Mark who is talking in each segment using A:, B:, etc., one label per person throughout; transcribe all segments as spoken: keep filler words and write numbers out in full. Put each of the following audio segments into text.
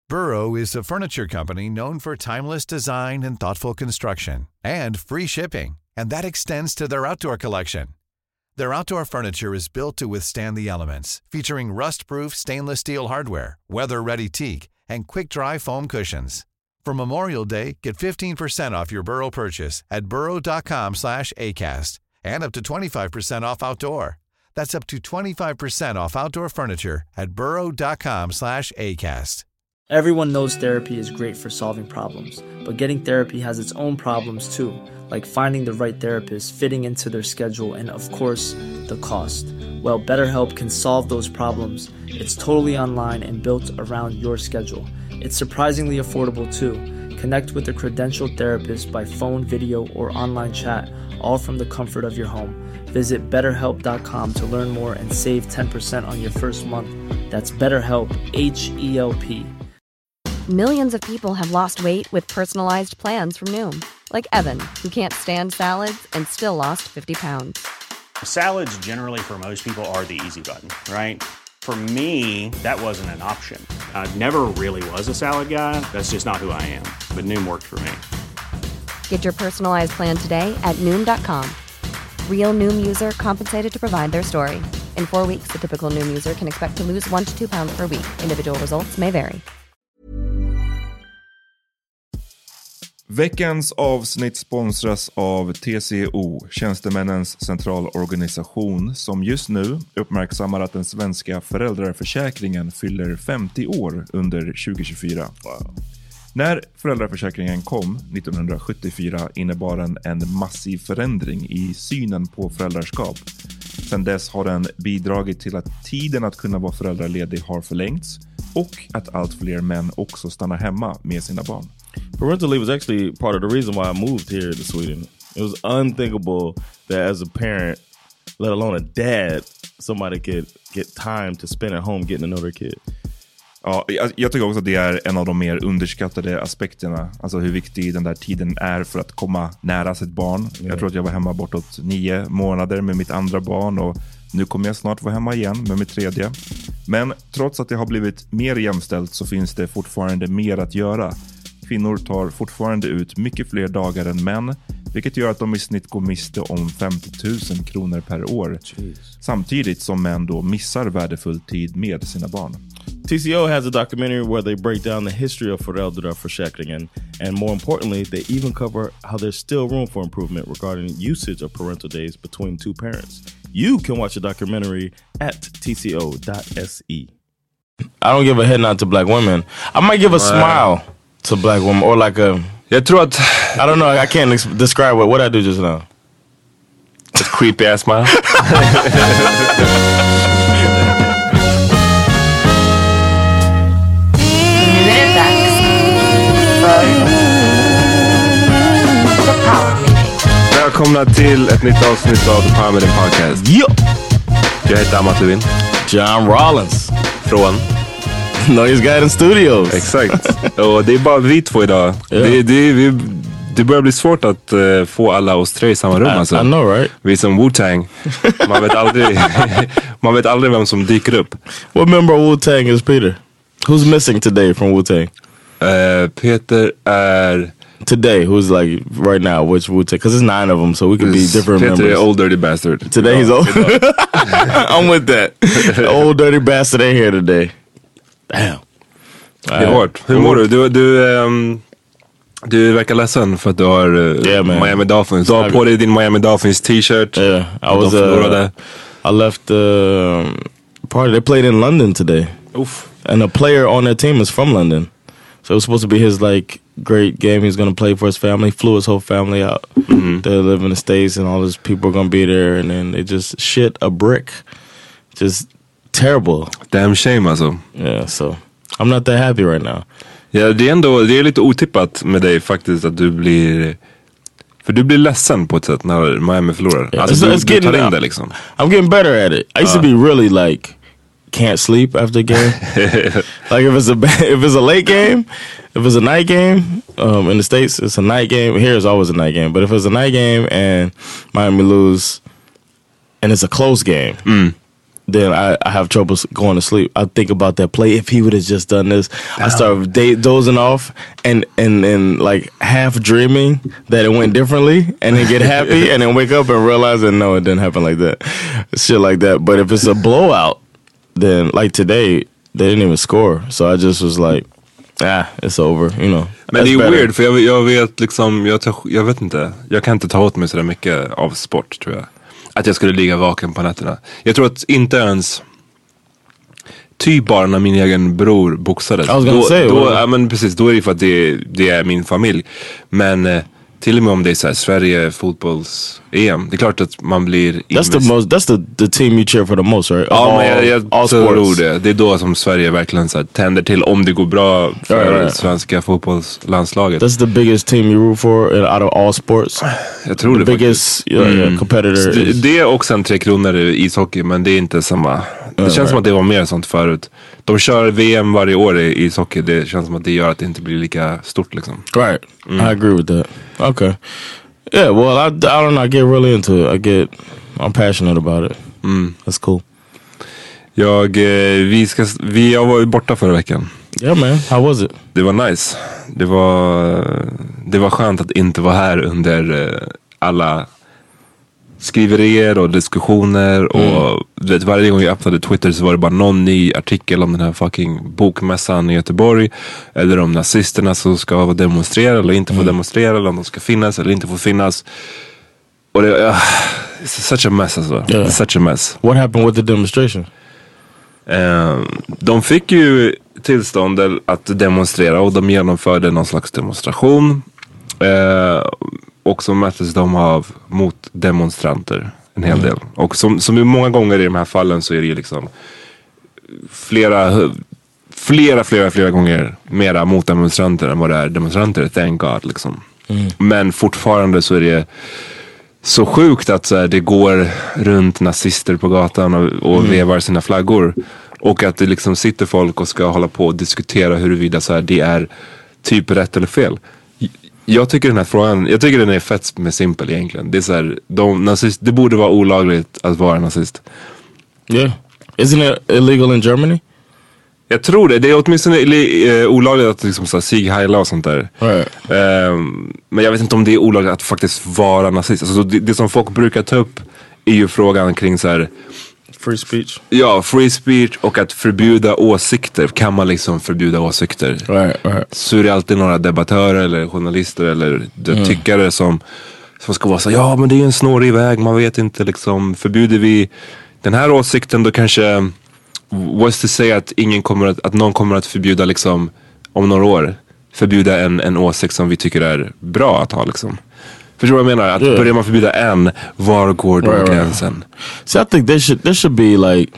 A: Burrow is a furniture company known for timeless design and thoughtful construction, and free shipping, and that extends to their outdoor collection. Their outdoor furniture is built to withstand the elements, featuring rust-proof stainless steel hardware, weather-ready teak, and quick-dry foam cushions. For Memorial Day, get fifteen percent off your Burrow purchase at burrow.com slash ACAST and up to twenty-five percent off outdoor. That's up to twenty-five percent off outdoor furniture at burrow.com slash ACAST.
B: Everyone knows therapy is great for solving problems, but getting therapy has its own problems too, like finding the right therapist, fitting into their schedule, and of course, the cost. Well, BetterHelp can solve those problems. It's totally online and built around your schedule. It's surprisingly affordable too. Connect with a credentialed therapist by phone, video, or online chat, all from the comfort of your home. Visit better help dot com to learn more and save ten percent on your first month. That's BetterHelp, H E L P.
C: Millions of people have lost weight with personalized plans from Noom. Like Evan, who can't stand salads and still lost fifty pounds.
D: Salads generally for most people are the easy button, right? For me, that wasn't an option. I never really was a salad guy. That's just not who I am. But Noom worked for me.
C: Get your personalized plan today at Noom dot com. Real Noom user compensated to provide their story. In four weeks, the typical Noom user can expect to lose one to two pounds per week. Individual results may vary.
E: Veckans avsnitt sponsras av T C O, Tjänstemännens centralorganisation, som just nu uppmärksammar att den svenska föräldraförsäkringen fyller femtio år under tjugo tjugofyra. Wow. När föräldraförsäkringen kom nittonhundrasjuttiofyra innebar den en massiv förändring i synen på föräldraskap. Sedan dess har den bidragit till att tiden att kunna vara föräldraledig har förlängts och att allt fler män också stannar hemma med sina barn.
F: Parental leave was actually part of the reason why I moved here to Sweden. It was unthinkable that as a parent, let alone a dad, somebody could get time to spend at home getting to know their kid.
E: Ja, jag, jag tycker också att det är en av de mer underskattade aspekterna. Alltså hur viktig den där tiden är för att komma nära sitt barn. Yeah. Jag tror att jag var hemma bortåt nio månader med mitt andra barn och nu kommer jag snart vara hemma igen med mitt tredje. Men trots att det har blivit mer jämställt så finns det fortfarande mer att göra. Kvinnor tar fortfarande ut mycket fler dagar än män, vilket gör att de i snitt går miste om femtio tusen kronor per år. Jeez. Samtidigt som män då missar värdefull tid med sina barn.
F: T C O has a documentary where they break down the history of föräldraförsäkringen, and more importantly, they even cover how there's still room for improvement regarding usage of parental days between two parents. You can watch the documentary at t c o dot s e.
G: I don't give a head nod to black women. I might give a smile to black women, or like a...
H: Jag tror att...
G: I don't know, I can't ex- describe what, what I do just now.
H: A creepy ass smile.
I: Nu är det dags för The Power Meeting.
H: Välkomna till ett nytt avsnitt av The Power Meeting Podcast.
G: Ja!
H: Jag heter Amat Levin.
G: John Rollins.
H: Från...
G: Noise Guidance Studios.
H: Exakt. Och det är bara vi två idag. Yeah. Det, det, vi, det börjar bli svårt att uh, få alla oss tre i samma rum.
G: I,
H: alltså.
G: I know, right?
H: Vi är som Wu-Tang. Man vet aldrig man vet aldrig vem som dyker upp.
G: What member of Wu-Tang is Peter? Who's missing today from Wu-Tang?
H: Uh, Peter är...
G: Today, who's like right now, which Wu-Tang? Because there's nine of them, so we could be different
H: Peter
G: members.
H: Peter är old dirty bastard.
G: Today he's old. I'm with that. Old dirty bastard ain't here today. Damn.
H: Det är hårt. Hur mår du? Du, du, um, du verkar ledsen för att du har uh,
G: yeah,
H: Miami Dolphins. Du har på dig din Miami Dolphins t-shirt.
G: Yeah, I was uh, I left the uh, party. They played in London today.
H: Oof.
G: And a player on their team is from London. So it was supposed to be his like great game he's going to play for his family. He flew his whole family out. Mm-hmm. They live in the States and all these people are going to be there. And then they just shit a brick. Just terrible.
H: Damn shame alltså.
G: Yeah, so... I'm not that happy right now.
H: Ja, det är ändå, det är lite otippat med dig faktiskt att du blir, för du blir ledsen på ett sätt när Miami förlorar.
G: Yeah,
H: alltså
G: it's,
H: du,
G: it's
H: du
G: getting,
H: tar in det liksom.
G: I'm getting better at it. I used uh. to be really like can't sleep after a game. Like if it's a if it's a late game, if it's a night game, um, in the States it's a night game. Here it's always a night game. But if it's a night game and Miami lose and it's a close game,
H: mm.
G: then I, I have trouble going to sleep. I think about that play. If he would have just done this, oh. I start day, dozing off and, and, and like half dreaming that it went differently and then get happy and then wake up and realize that no, it didn't happen like that. Shit like that. But if it's a blowout, then like today, they didn't even score. So I just was like, ah, it's over, you know.
H: Men det är better. Weird, för jag, jag vet liksom, jag, tar, jag vet inte, jag kan inte ta åt mig så där mycket av sport, tror jag. Att jag skulle ligga vaken på nätterna. Jag tror att inte ens typ bara när min egen bror boxades.
G: Då,
H: då, ja, men precis, då är det för att det, det är min familj. Men eh, till och med om det är så här, Sverige fotbolls-E M, det är klart att man blir
G: That's the most, that's the, the team you cheer for the most, right?
H: Ja, men jag, jag all tror det. Det är då som Sverige verkligen så här, tänder till om det går bra för right, right. svenska fotbollslandslaget.
G: That's the biggest team you root for out of all sports.
H: Jag tror
G: the
H: det
G: biggest yeah, mm. competitor.
H: Det, det är också en tre kronor i ishockey, men det är inte samma. Det känns right. som att det var mer sånt förut. De kör V M varje år i ishockey. Det känns som att det gör att det inte blir lika stort liksom.
G: Right, mm. I agree with that. Okay. Yeah, well, I, I don't know, I get really into it. I get, I'm passionate about it.
H: Mm.
G: That's cool.
H: Jag, vi ska, vi, jag var ju borta förra veckan.
G: Yeah man, how was it?
H: Det var nice. Det var, det var skönt att inte vara här under alla skriverier och diskussioner och mm. vet, varje gång jag öppnade Twitter så var det bara någon ny artikel om den här fucking bokmässan i Göteborg eller om nazisterna som ska demonstrera eller inte få mm. demonstrera eller om de ska finnas eller inte få finnas och det uh, it's such a mess alltså. Yeah. It's such a mess.
G: What happened with the demonstration?
H: Uh, de fick ju tillstånd att demonstrera och de genomförde någon slags demonstration uh, och så möttes de av mot demonstranter en hel del. Mm. Och som, som många gånger i de här fallen så är det ju liksom flera, flera, flera, flera gånger mera mot demonstranter än vad det är demonstranter, thank God liksom. Mm. Men fortfarande så är det så sjukt att så här, det går runt nazister på gatan och, och mm. vevar sina flaggor. Och att det liksom sitter folk och ska hålla på och diskutera huruvida så här, det är typ rätt eller fel. Jag tycker den här frågan, jag tycker den är fett med simpel egentligen. Det är så här, de, nazist, det borde vara olagligt att vara nazist.
G: Yeah. Isn't it illegal in Germany?
H: Jag tror det. Det är åtminstone uh, olagligt att liksom så här, sig heila och sånt där.
G: Right.
H: Um, men jag vet inte om det är olagligt att faktiskt vara nazist. Alltså, det, det som folk brukar ta upp är ju frågan kring så här,
G: free speech.
H: Ja, free speech och att förbjuda åsikter. Kan man liksom förbjuda åsikter?
G: Right, right.
H: Så är det alltid några debattörer eller journalister eller mm. tyckare som, som ska vara så ja men det är en snårig väg, man vet inte liksom, förbjuder vi den här åsikten då kanske what's to say att ingen kommer att, att någon kommer att förbjuda liksom om några år förbjuda en, en åsikt som vi tycker är bra att ha liksom. Förstår du vad jag menar? Att yeah. börjar man förbjuda en, var går då right, gränsen?
G: Right. So I think there should, there should be like,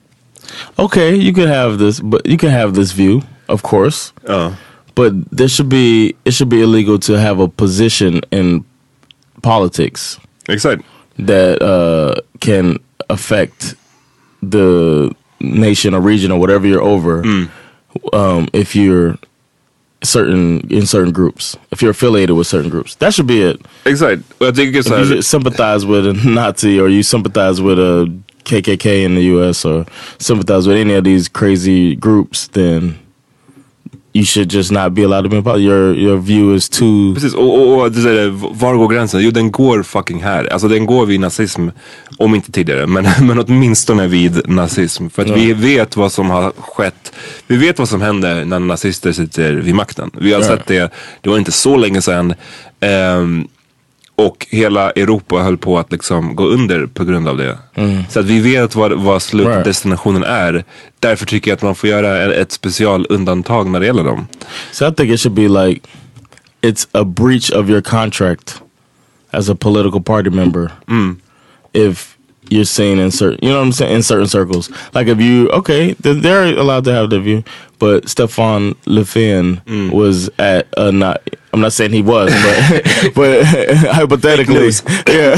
G: okay, you can have this, but you can have this view, of course.
H: Uh.
G: But there should be, it should be illegal to have a position in politics.
H: Exactly.
G: That uh, can affect the nation or region or whatever you're over.
H: Mm.
G: Um, if you're certain in certain groups, if you're affiliated with certain groups, that should be it.
H: Exactly. Well, I think it's
G: if you sympathize with a Nazi or you sympathize with a K K K in the U S or sympathize with any of these crazy groups, then you should just not be allowed to be in politics. Your, your view is too...
H: Precis, och, och, och det, var går gränsen? Jo, den går fucking här. Alltså den går vid nazism, om inte tidigare, men, men åtminstone vid nazism. För att ja. vi vet vad som har skett. Vi vet vad som händer när nazister sitter vid makten. Vi har ja. sett det, det var inte så länge sedan. Um, och hela Europa höll på att liksom gå under på grund av det.
G: Mm.
H: Så att vi vet vad, vad slutdestinationen är. Därför tycker jag att man får göra ett special undantag när det gäller dem.
G: So I think it should be like, it's a breach of your contract as a political party member.
H: Mm.
G: If you're seen in certain, you know what I'm saying, in certain circles. Like if you, okay, they're allowed to have their view, but Stefan Löfven mm. was at a not, I'm not saying he was, but but hypothetically, yeah,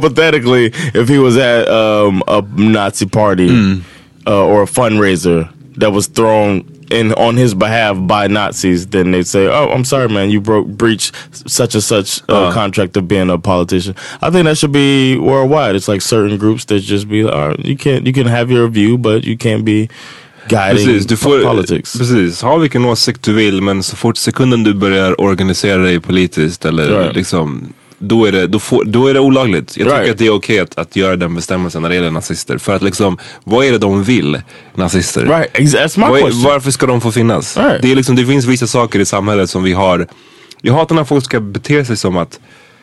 G: hypothetically, if he was at um, a Nazi party
H: mm.
G: uh, or a fundraiser, that was thrown in on his behalf by Nazis, then they'd say, "Oh, I'm sorry, man, you broke breached such and such uh, uh. contract of being a politician." I think that should be worldwide. It's like certain groups that just be, oh, you can't, you can have your view, but you can't be guiding precis, du får, politics.
H: Precis, ha vilken åsikt du vill, men så fort sekunden du börjar organisera dig politiskt eller right. liksom, då är det, då får, då är det olagligt. Jag right. tycker att det är okej att, att göra den bestämmelsen när det gäller nazister. För att liksom, vad är det de vill, nazister?
G: Right. That's my
H: är, varför ska de få finnas?
G: Right.
H: Det är liksom, det finns vissa saker i samhället som vi har. Jag hatar när folk ska bete sig som att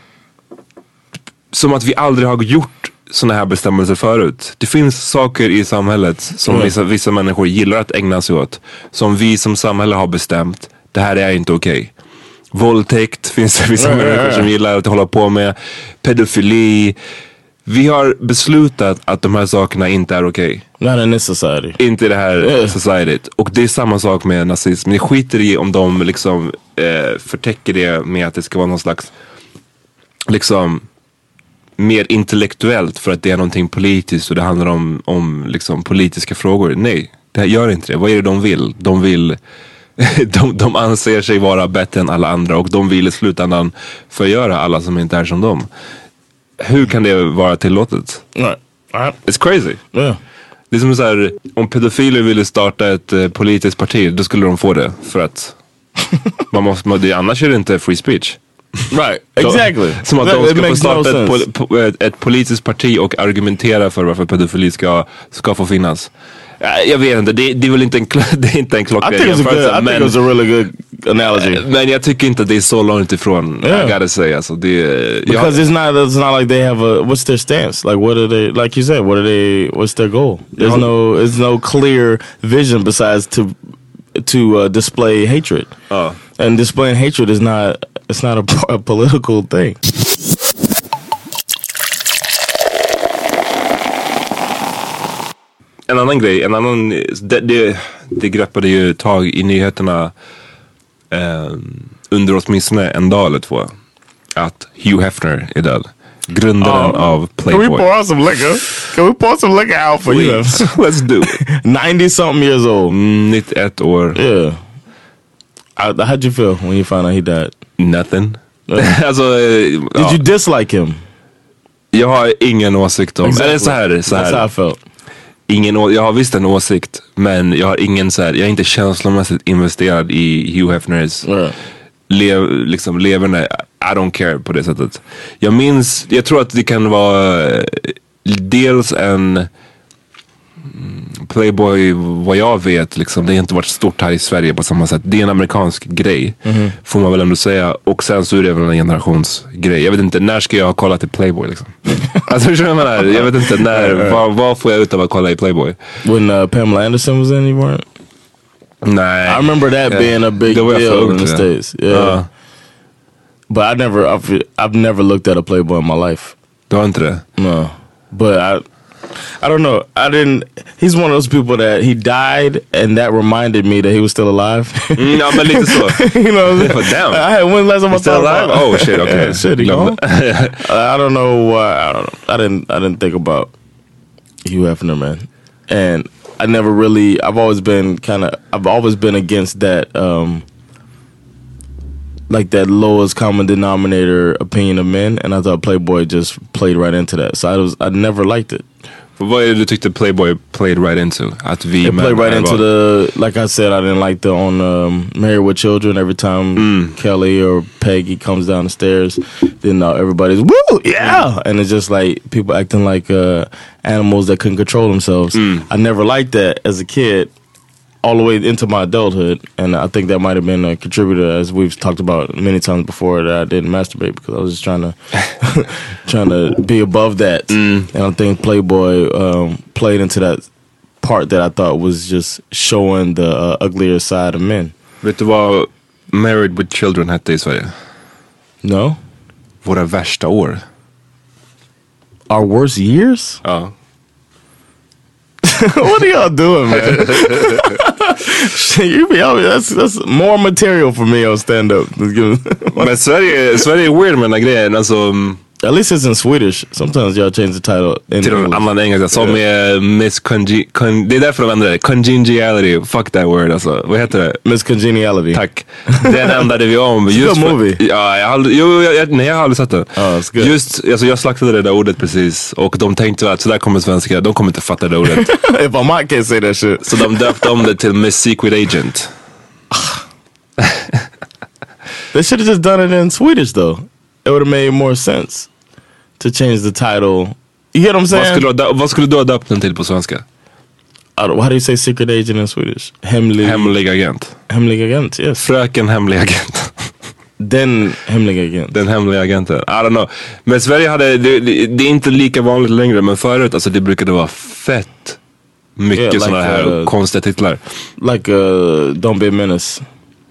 H: som att vi aldrig har gjort såna här bestämmelser förut. Det finns saker i samhället som mm. vissa, vissa människor gillar att ägna sig åt. Som vi som samhälle har bestämt. Det här är inte okej. Okay. Våldtäkt finns det vissa mm. människor som gillar att hålla på med. Pedofili. Vi har beslutat att de här sakerna inte är okej.
G: Okay. Not in this society.
H: Inte i det här yeah. societyt. Och det är samma sak med nazism. Ni skiter i om de liksom eh, förtäcker det med att det ska vara någon slags liksom mer intellektuellt för att det är någonting politiskt och det handlar om, om liksom politiska frågor. Nej, det här gör inte det. Vad är det de vill? De vill de, de anser sig vara bättre än alla andra och de vill i slutändan förgöra alla som inte är som dem. Hur kan det vara tillåtet?
G: Nej.
H: It's crazy.
G: Yeah.
H: Det är som så här, om pedofiler ville starta ett uh, politiskt parti, då skulle de få det för att man måste, man, det, annars är det inte free speech.
G: Right, exactly.
H: Som att de ska få starta no ett, pol, po, ett, ett politiskt parti och argumentera för varför pedofili ska, ska få finnas. Jag vet inte, det, det är väl inte en, det är inte en klockren
G: jämförelse. I think it was a really good analogy.
H: Men jag tycker inte att det är så långt ifrån, yeah. I gotta say. Alltså, det,
G: Because jag, it's, not, it's not like they have a, what's their stance? Like what are they, like you said, what are they, what's their goal? There's yeah. no, there's no clear vision besides to, to uh, display hatred.
H: Uh.
G: And displaying hatred is not, it's not a, a political thing.
H: En annan grej, en annan, det, det, det greppade ju tag i nyheterna eh, under åtminstone en dag eller två. Att Hugh Hefner är död. Grundaren um, av Playboy.
G: Can we pour some liquor? Can we pour some liquor out for you?
H: Let's do it.
G: ninety something years old.
H: Mm, nittioett år.
G: Yeah. I, how'd you feel when you found out he died?
H: Nothing.
G: Uh,
H: alltså,
G: Did ja. you dislike him?
H: Jag har ingen åsikt om.
G: Exactly.
H: Eller så här, så här.
G: That's how I felt.
H: Ingen, jag har visst en åsikt, men jag har ingen så här, jag är inte känslomässigt investerad i Hugh Hefners
G: yeah.
H: lev, liksom leverne. I don't care på det sättet. Jag minns, jag tror att det kan vara dels en Playboy, vad jag vet liksom, det har inte varit stort här i Sverige på samma sätt. Det är en amerikansk grej, mm-hmm. får man väl ändå säga. Och sen så är det väl en generationsgrej. Jag vet inte, när ska jag ha kollat i Playboy liksom? Alltså förstår du vad jag menar? Jag vet inte, när, vad, vad får jag ut av att kolla i Playboy?
G: When uh, Pamela Anderson was in, you weren't?
H: Nej.
G: I remember that yeah. being a big deal in the States. Yeah. Uh. But I never, I've, I've never looked at a Playboy in my life.
H: Du har inte det?
G: No. But I... I don't know. I didn't. He's one of those people that he died, and that reminded me that he was still alive.
H: mm, no, but lite så.
G: You know,
H: but damn.
G: I had when last time I
H: still alive. About, oh shit. Okay.
G: Yeah, shit, he gone? I don't know why. I don't know. I didn't. I didn't think about Hugh Hefner, man. And I never really. I've always been kind of. I've always been against that. Um, like that lowest common denominator opinion of men, and I thought Playboy just played right into that. So I was. I never liked it.
H: Vad är det du tyckte Playboy played right into? Att vi
G: It played right into the, like I said, I didn't like the on um, Married with Children. Every time mm. Kelly or Peggy comes down the stairs, then uh, everybody's woo, yeah, and it's just like people acting like uh, animals that couldn't control themselves. Mm. I never liked that as a kid, all the way into my adulthood, and I think that might have been a contributor, as we've talked about many times before, that I didn't masturbate because I was just trying to trying to be above that. Mm. And I think Playboy um, played into that part that I thought was just showing the uh, uglier side of men.
H: Vet du vad Married with Children hette i Sverige?
G: No.
H: Våra värsta år.
G: Our worst years?
H: Ja.
G: What are y'all doing, man? you be out, that's, that's more material for me on stand-up.
H: Men Sverige, Sverige är weird med den här grejen. Alltså,
G: At least it's in Swedish. Sometimes y'all change the title in
H: till en annan engelska som är Miss Conge- Con- det är därför de ändrar det. Congeniality, fuck that word alltså. Vad heter det?
G: Miss Congeniality.
H: Tack. Den ändrade vi om.
G: It's a good movie.
H: Ja, jag har aldrig, jo, jag, jag, nej, jag har aldrig sett den.
G: Oh, it's good.
H: Just, alltså jag slaktade det där ordet precis och de tänkte att så där kommer svenska, de kommer inte fatta det ordet.
G: If I might can't say that shit.
H: Så de döpte om det till Miss Secret Agent.
G: They should have just done it in Swedish though. It would have made more sense to change the title. You get what I'm saying?
H: Vad skulle, du, vad skulle du ha döpt den till på svenska?
G: I don't, how do you say secret agent in Swedish? Hemlig,
H: hemlig agent.
G: Hemlig agent, yes.
H: Fröken hemlig agent.
G: Den hemliga agent.
H: Den hemliga agenten. I don't know. Men Sverige hade, det, det, det är inte lika vanligt längre, men förut, alltså det brukade vara fett mycket yeah, like, sådana här uh, konstiga titlar.
G: Like uh, Don't Be a Menace.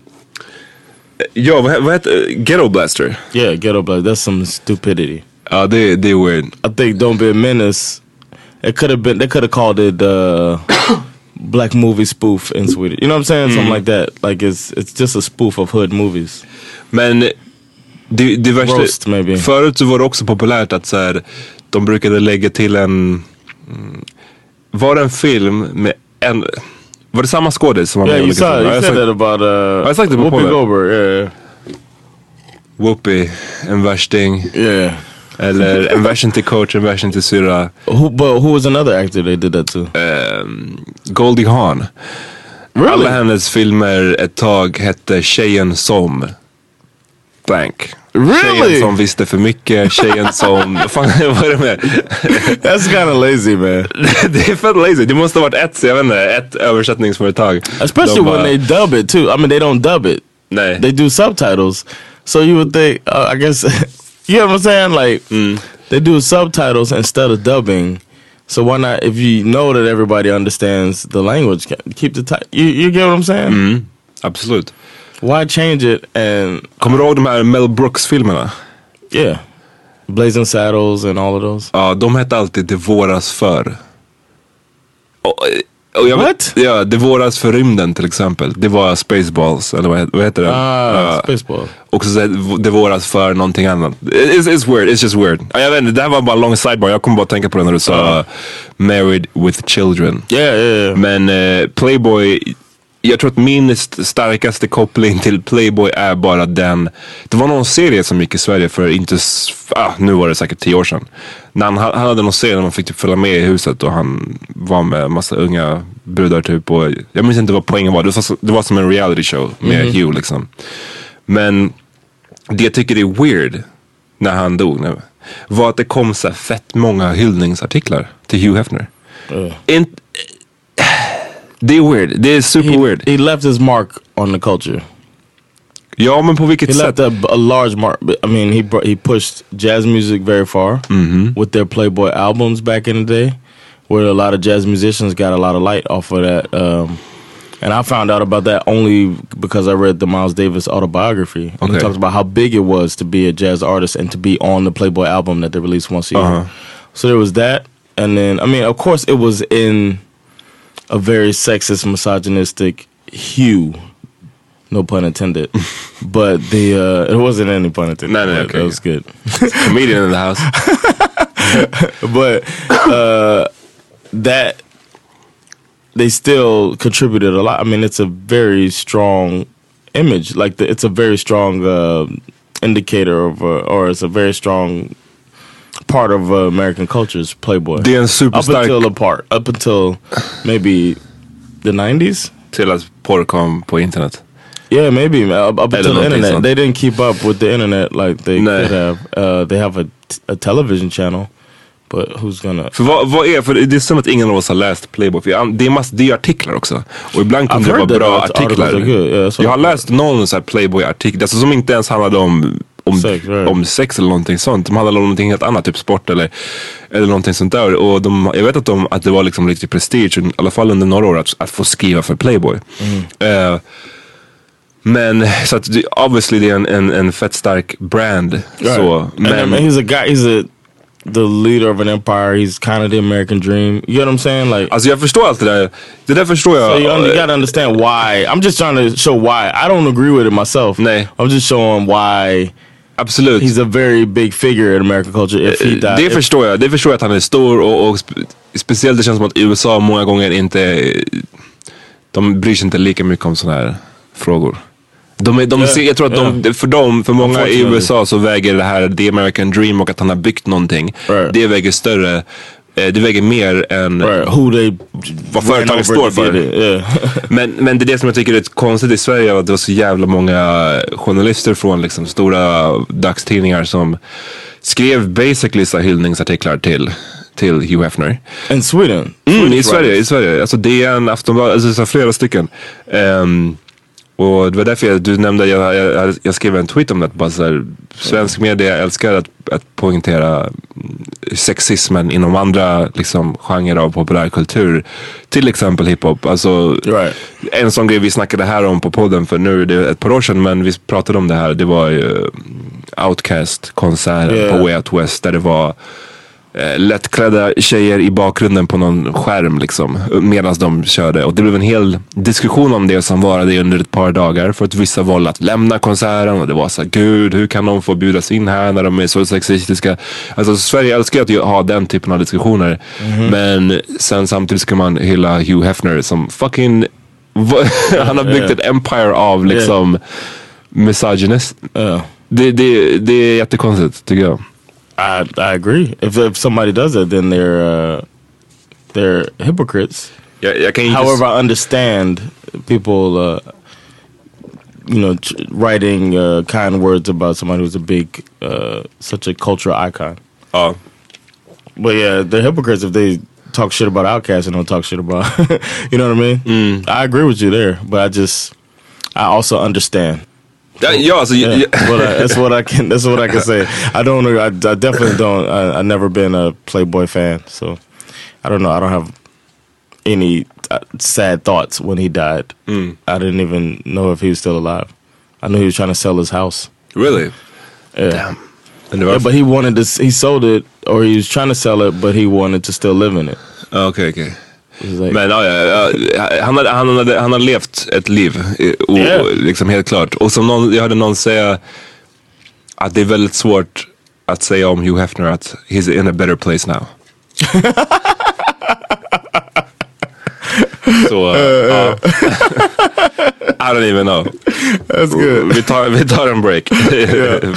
H: Ja, vad, vad heter Ghetto Blaster?
G: Yeah, Ghetto Blaster. That's some stupidity.
H: Ja, det, det är weird.
G: I think Don't Be a Menace, it could have been, they could have called it uh, black movie spoof in Sweden. You know what I'm saying? Mm. Something like that. Like it's it's just a spoof of hood movies.
H: Men det, det värsta,
G: Roast, maybe.
H: Förut så var det också populärt att så här, de brukade lägga till en, var det en film med en, var det samma skådis som var med?
G: Yeah, you saw, you said that about uh,
H: jag sagt det på
G: Whoopi Goldberg. Yeah.
H: Whoopi, en värsting.
G: Yeah.
H: Eller en värsting till coach, en värsting till syra.
G: Who, but who was another actor they did that to?
H: Um, Goldie Hawn.
G: Really?
H: Alla hennes filmer ett tag hette Tjejen som blank.
G: Really?
H: Tjejen som visste för mycket, tjejen som... Fan, vad är det med?
G: That's kind of lazy, man.
H: Det är fett lazy. Det måste ha varit ett, jag vet inte, ett översättningsföretag.
G: Especially De, when uh, they dub it too. I mean, they don't dub it.
H: Nej.
G: They do subtitles. So you would think, uh, I guess, you know what I'm saying? Like,
H: mm.
G: they do subtitles instead of dubbing. So why not, if you know that everybody understands the language, keep the title. You, you get what I'm saying?
H: Mm. Absolut.
G: Why change it and...
H: Kommer du ihåg de här Mel Brooks-filmerna?
G: Yeah. Blazing Saddles and all of those.
H: Ja, de hette alltid Det våras för. Och, och jag
G: What?
H: Vet, ja, Det våras för rymden till exempel. Det var Spaceballs, eller vad, vad heter det?
G: Ah, uh, Spaceball.
H: Och så Det våras för någonting annat. It's, it's weird, it's just weird. Jag vet inte, det här var bara en lång sidebar. Jag kommer bara tänka på det när du sa uh. Married with Children.
G: Yeah, yeah, yeah.
H: Men uh, Playboy... Jag tror att min starkaste koppling till Playboy är bara den. Det var någon serie som gick i Sverige för inte, ah, nu var det säkert tio år sedan. När han, han hade någon serie där man fick typ följa med i huset och han var med massa unga brudar typ. Och jag minns inte vad poängen var. Det var, det var som en reality show med mm. Hugh liksom. Men det jag tycker är weird när han dog nu var att det kom så fett många hyllningsartiklar till Hugh Hefner. Mm. In, Det är weird. Det är super
G: he,
H: weird.
G: He left his mark on the culture.
H: Ja, men på vilket
G: he
H: sätt?
G: He left a, a large mark. I mean, he brought, he pushed jazz music very far
H: mm-hmm.
G: with their Playboy albums back in the day, where a lot of jazz musicians got a lot of light off of that. Um, and I found out about that only because I read the Miles Davis autobiography. And
H: okay.
G: he talks about how big it was to be a jazz artist and to be on the Playboy album that they released once a year.
H: Uh-huh.
G: So there was that. And then, I mean, of course it was in a very sexist, misogynistic hue. No pun intended. But the uh, it wasn't any pun intended.
H: No, no, okay.
G: That was good.
H: Comedian in the house.
G: But uh, that they still contributed a lot. I mean, it's a very strong image. Like the, it's a very strong uh, indicator of, uh, or it's a very strong part of uh, American culture's Playboy.
H: Det är en superstark...
G: Up until a part. Up until maybe the nineties?
H: Till att porr kom på internet.
G: Yeah, maybe. Up, up until the internet. Sånt. They didn't keep up with the internet like they Nej. could have. Uh, they have a, a television channel. But who's gonna...
H: För vad, vad är... För det är som att ingen av oss har läst Playboy. För det är mass, det är artiklar också. Och ibland kan det vara bra artiklar. Yeah, jag har läst någon så här Playboy-artikel. Alltså som inte ens handlade om... Om sex, right. om sex eller någonting sånt. De handlade om någonting helt annat, typ sport eller, eller någonting sånt där. Och de, jag vet att, de, att det var liksom riktigt prestige, i alla fall under några år, att, att få skriva för Playboy.
G: Mm.
H: Uh, men så att obviously det är en, en, en fett stark brand. Right. Så, men,
G: and, and he's a guy, he's a the leader of an empire. He's kind of the American dream. You get what I'm saying? Like,
H: alltså jag förstår allt det där. Det där förstår jag.
G: So you, you gotta understand why. I'm just trying to show why. I don't agree with it myself.
H: Nej.
G: I'm just showing why
H: Absolut.
G: He's a very big figure in American culture. If he died,
H: det
G: if...
H: förstår jag. Det förstår jag att han är stor och, och spe, speciellt det känns som att U S A många gånger inte, de bryr sig inte lika mycket om såna här frågor. De är, de yeah, ser, jag tror att yeah. de, för dem, för många i U S A så väger det här The American Dream och att han har byggt någonting. Right. Det väger större. Det väger mer än
G: right. Who they
H: vad företaget står för. Yeah. men, men det är det som jag tycker är konstigt i Sverige, att det var så jävla många journalister från liksom stora dagstidningar som skrev basically så hyllningsartiklar till till Hugh Hefner.
G: In Sweden?
H: Mm, i Sverige, i Sverige. Alltså det är en Aftonbladet, alltså så flera stycken. Um, Och det var därför jag, du nämnde, jag, jag, jag skrev en tweet om det. Bara så här, svensk media älskar att, att poängtera sexismen inom andra liksom, genrer av populärkultur. Till exempel hiphop. Alltså,
G: right.
H: En sån grej vi snackade här om på podden för nu det är ett par år sedan. Men vi pratade om det här. Det var ju Outkast-konserten yeah. på Way Out West. Där det var eh, lättklädda tjejer i bakgrunden på någon skärm liksom, medan de körde. Och det blev en hel diskussion om det som varade under ett par dagar för att vissa valde att lämna konserten. Och det var så här, gud, hur kan de få bjudas in här när de är så sexistiska? Alltså Sverige älskar att ha den typen av diskussioner. Mm-hmm. Men sen samtidigt ska man hylla Hugh Hefner som fucking han har byggt yeah. ett empire av liksom yeah. misogynist.
G: Yeah.
H: Det, det, det är jättekonstigt tycker jag.
G: I I agree. If if somebody does it, then they're uh, they're hypocrites.
H: Yeah, I can
G: However,
H: just...
G: I understand people, uh, you know, t- writing uh, kind words about somebody who's a big, uh, such a cultural icon.
H: Oh,
G: but yeah, they're hypocrites if they talk shit about Outkast and don't talk shit about. You know what I mean?
H: Mm.
G: I agree with you there, but I just, I also understand.
H: Yeah, yeah, also,
G: yeah.
H: yeah.
G: But I, that's what I can. That's what I can say. I don't. I, I definitely don't. I, I never been a Playboy fan, so I don't know. I don't have any uh, sad thoughts when he died.
H: Mm.
G: I didn't even know if he was still alive. I knew he was trying to sell his house.
H: Really?
G: Yeah.
H: Damn.
G: Yeah, but he wanted to. He sold it, or he was trying to sell it, but he wanted to still live in it.
H: Okay, okay.
G: Like,
H: men ja, ja, han, hade, han, hade, han har levt ett liv och,
G: yeah.
H: liksom helt klart. Och som någon, jag hörde någon säga att det är väldigt svårt att säga om Hugh Hefner att he's in a better place now. Så uh, uh. I don't even know.
G: That's good.
H: Vi tar, vi tar en break. Yeah.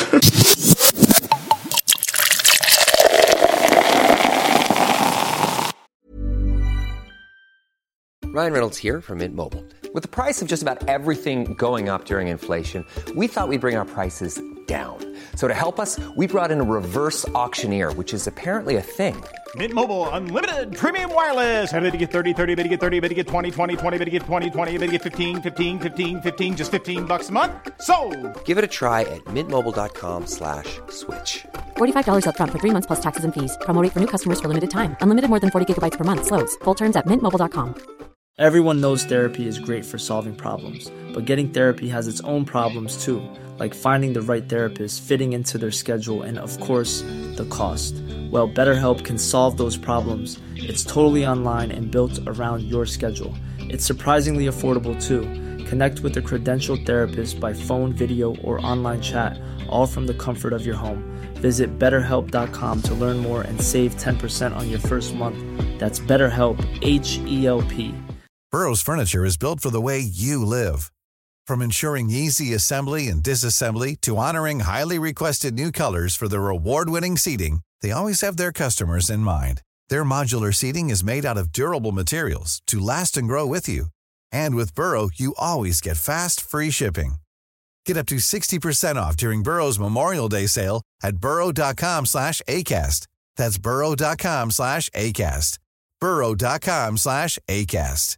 J: Ryan Reynolds here from Mint Mobile. With the price of just about everything going up during inflation, we thought we'd bring our prices down. So to help us, we brought in a reverse auctioneer, which is apparently a thing.
K: Mint Mobile Unlimited Premium Wireless. How to get thirty, thirty, bit to get thirty, bit to get twenty, twenty, twenty, bit to get twenty, twenty, bit to get fifteen, fifteen, fifteen, fifteen, just fifteen bucks a month? Sold!
J: Give it a try at mintmobile.com slash switch.
L: forty-five dollars up front for three months plus taxes and fees. Promo rate for new customers for limited time. Unlimited more than forty gigabytes per month. Slows full terms at mint mobile dot com.
B: Everyone knows therapy is great for solving problems, but getting therapy has its own problems too, like finding the right therapist, fitting into their schedule, and of course, the cost. Well, BetterHelp can solve those problems. It's totally online and built around your schedule. It's surprisingly affordable too. Connect with a credentialed therapist by phone, video, or online chat, all from the comfort of your home. Visit better help dot com to learn more and save ten percent on your first month. That's BetterHelp, H E L P.
A: Burrow's furniture is built for the way you live. From ensuring easy assembly and disassembly to honoring highly requested new colors for their award-winning seating, they always have their customers in mind. Their modular seating is made out of durable materials to last and grow with you. And with Burrow, you always get fast, free shipping. Get up to sixty percent off during Burrow's Memorial Day sale at burrow dot com slash ACAST. That's burrow dot com slash ACAST. burrow dot com slash ACAST.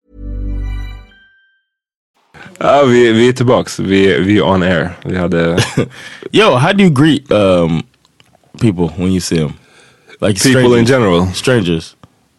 H: Ja, vi, vi är tillbaks. Vi, vi är on air. Vi hade...
G: Yo, how do you greet um, people when you see them? Like
H: people
G: strangers.
H: in general?
G: Strangers.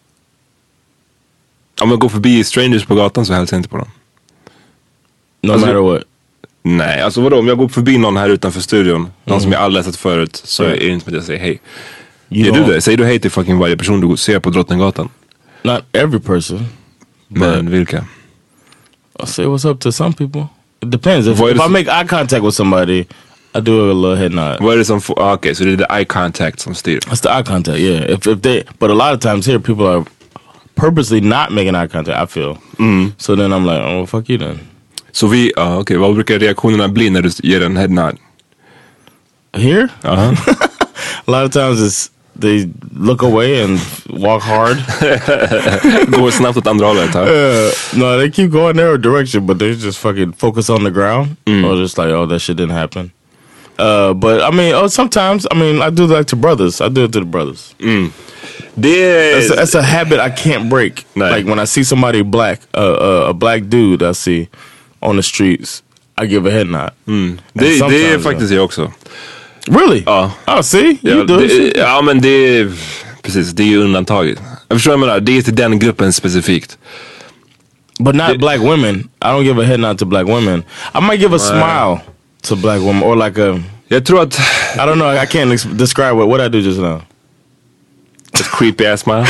H: Om jag går förbi strangers på gatan så hälsar jag inte på dem.
G: No
H: alltså,
G: matter what?
H: Nej, alltså vadå? Om jag går förbi någon här utanför studion, mm. någon som jag aldrig sett förut, så mm. är det inte som att jag säger hej. Gör du det? Säger du hej till fucking varje person du ser på Drottninggatan?
G: Not every person.
H: Men vilka?
G: I'll say what's up to some people. It depends. If, if I make eye contact with somebody, I do a little head nod.
H: Vad är det som får, ah, okay, så det är the eye contact som styr?
G: It's the eye contact, yeah. If, if they, but a lot of times here people are purposely not making eye contact, I feel.
H: Mm.
G: So then I'm like, oh, well, fuck you then.
H: Så vi, ja ah, okej, okay. Vad brukar reaktionerna bli när du ger en head nod?
G: Here?
H: Uh-huh.
G: A lot of times it's they look away and walk hard.
H: Går snabbt åt andra hållet, huh?
G: Uh, no, they keep going their direction, but they just fucking focus on the ground. Mm. Or just like, oh, that shit didn't happen. Uh, but I mean, oh, sometimes, I mean, I do that to brothers. I do it to the brothers.
H: Mm. Det
G: that's, a, that's a habit I can't break. Nej. Like when I see somebody black, uh, uh, a black dude I see on the streets, I give a head nod.
H: Mm. Det, det är faktiskt jag också.
G: Really?
H: Ja.
G: Oh, see? You
H: ja,
G: do
H: det, ja, men det är, precis, det är ju undantaget. Jag förstår vad jag menar, det är till den gruppen specifikt.
G: But not
H: det,
G: black women. I don't give a head nod to black women. I might give a smile to black women or like a...
H: Jag tror att...
G: I don't know, I can't ex- describe what, what I do just now.
H: A creepy ass smile.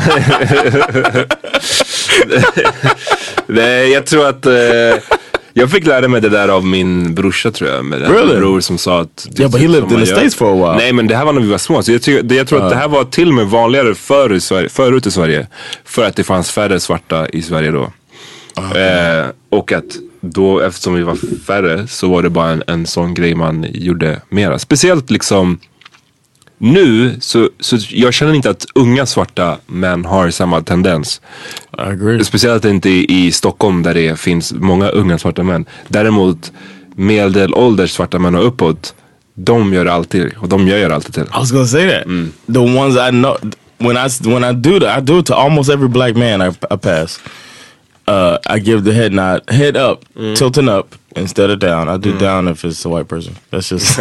H: Nej, jag tror att... Uh, jag fick lära mig det där av min brorsa, tror jag. Med
G: really?
H: En bror som sa att...
G: Yeah, but he lived in the gör. States for a while.
H: Nej, men det här var när vi var små. Så jag, ty- det, jag tror uh. att det här var till och med vanligare förr i Sverige, förut i Sverige. För att det fanns färre svarta i Sverige då. Uh. Eh, och att då, eftersom vi var färre, så var det bara en, en sån grej man gjorde mera. Speciellt liksom... Nu, så, så jag känner inte att unga svarta män har samma tendens.
G: I agree.
H: Speciellt inte i, i Stockholm där det finns många unga svarta män. Däremot medelålders svarta män och uppåt, de gör alltid, och de gör alltid till.
G: I was gonna say that.
H: Mm.
G: The ones I know, when I, when I do that, I do it to almost every black man I, I pass. Uh, I give the head nod, head up, mm. tilting up instead of down. I do mm. down if it's a white person. That's just.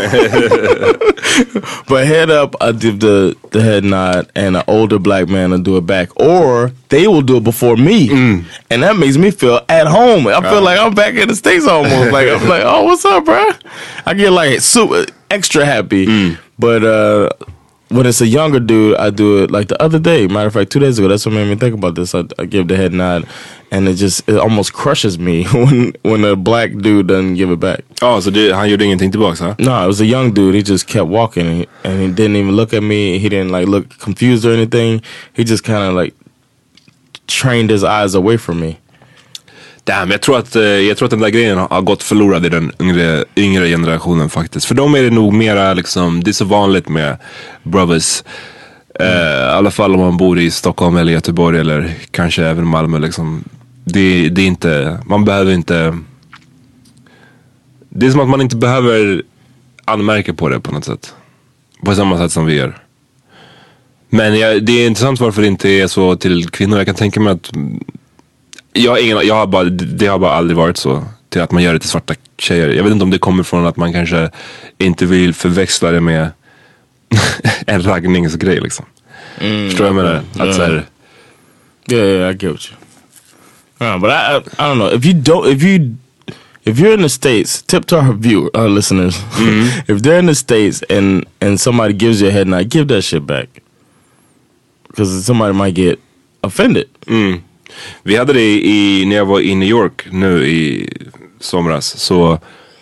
G: But head up, I give the the head nod, and an older black man will do it back, or they will do it before me, mm. and that makes me feel at home. I feel uh. like I'm back in the States almost. Like I'm like, oh, what's up, bro? I get like super extra happy, mm. but. uh When it's a younger dude, I do it like the other day. Matter of fact, two days ago, that's what made me think about this. I, I give the head nod, and it just it almost crushes me when when a black dude doesn't give it back.
H: Oh, so did, han gjorde ingenting tillbaka, huh?
G: No, it was a young dude. He just kept walking, and he, and he didn't even look at me. He didn't like look confused or anything. He just kind of like trained his eyes away from me.
H: Damn, jag tror att, jag tror att den där grejen har gått förlorad i den yngre, yngre generationen faktiskt. För dem är det nog mera liksom, det är så vanligt med brothers. Mm. Uh, I alla fall om man bor i Stockholm eller Göteborg eller kanske även Malmö liksom. Det, det är inte, man behöver inte, det är som att man inte behöver anmärka på det på något sätt. På samma sätt som vi gör. Men jag, det är intressant varför det inte är så till kvinnor. Jag kan tänka mig att Jag har ingen, jag har bara, det har bara aldrig varit så till att man gör det till svarta tjejer. Jag vet inte om det kommer från att man kanske inte vill förväxla det med en raggningsgrej liksom. Mm, Förstår jag menar?
G: Yeah.
H: Att så här,
G: yeah, yeah, I get what you. Yeah, but I, I, I don't know. If you don't, if you, if you're in the States, tip to our viewer, our listeners. Mm-hmm. If they're in the States and and somebody gives you a head nod, give that shit back. Because somebody might get offended.
H: Mm. Vi hade det i, när jag var i New York nu i somras, så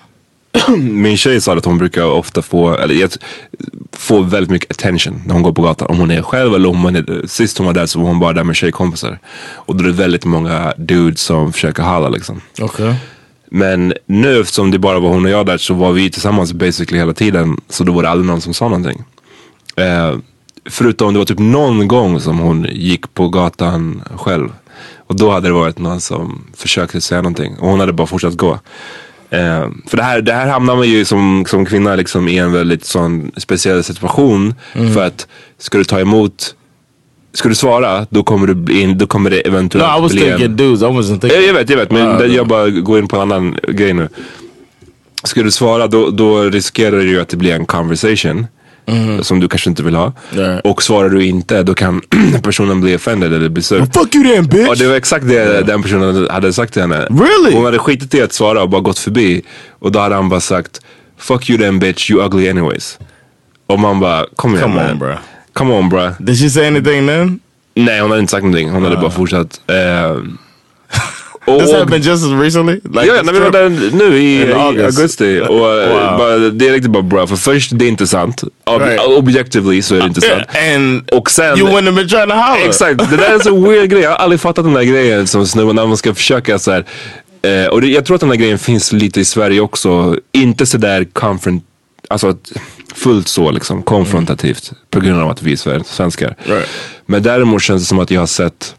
H: min tjej sa att hon brukar ofta få, eller få väldigt mycket attention när hon går på gatan. Om hon är själv eller om hon är, sist hon var där så var hon bara där med tjejkompisar. Och då är det väldigt många dudes som försöker halla liksom.
G: Okay.
H: Men nu eftersom det bara var hon och jag där så var vi tillsammans basically hela tiden. Så då var det aldrig någon som sa någonting. Eh, förutom det var typ någon gång som hon gick på gatan själv. Och då hade det varit någon som försökte säga någonting. Och hon hade bara fortsatt gå. Eh, för det här, det här hamnar man ju som, som kvinna liksom i en väldigt sån speciell situation. Mm. För att ska du ta emot, ska du svara, då kommer du bli in, då kommer det eventuellt
G: no, I was
H: bli
G: thinking
H: en...
G: dudes, I wasn't thinking...
H: Jag, jag vet, jag vet. Men uh, jag bara går in på en annan grej nu. Ska du svara, då, då riskerar du ju att det blir en conversation. Mm. Som du kanske inte vill ha. Yeah. Och svarar du inte, då kan personen bli offended eller bli sur.
G: Well, fuck you then, bitch!
H: Och det var exakt det yeah. den personen hade sagt till henne.
G: Really?
H: Hon hade skitit i att svara och bara gått förbi. Och då hade han bara sagt, fuck you then bitch, you ugly anyways. Och man bara, kom igen.
G: Come on bro.
H: Come on bro.
G: Did she say anything then?
H: Nej, hon hade inte sagt någonting. Hon uh. hade bara fortsatt. uh, och,
G: This happened just as recently? Like
H: ja, när vi var där nu i, i augusti. Och
G: wow.
H: bara, det är riktigt bara bra. För först, det är inte sant. Ob-
G: right.
H: Objectively så är det inte sant.
G: And
H: och sen,
G: you wouldn't have been trying to holler.
H: Exakt, det där är så weird grej. Jag har aldrig fattat den där grejen som snubben när man ska försöka så här. Eh, och det, jag tror att den där grejen finns lite i Sverige också. Inte så där confront, alltså fullt så liksom konfrontativt mm. på grund av att vi är svenskar.
G: Right.
H: Men däremot känns det som att jag har sett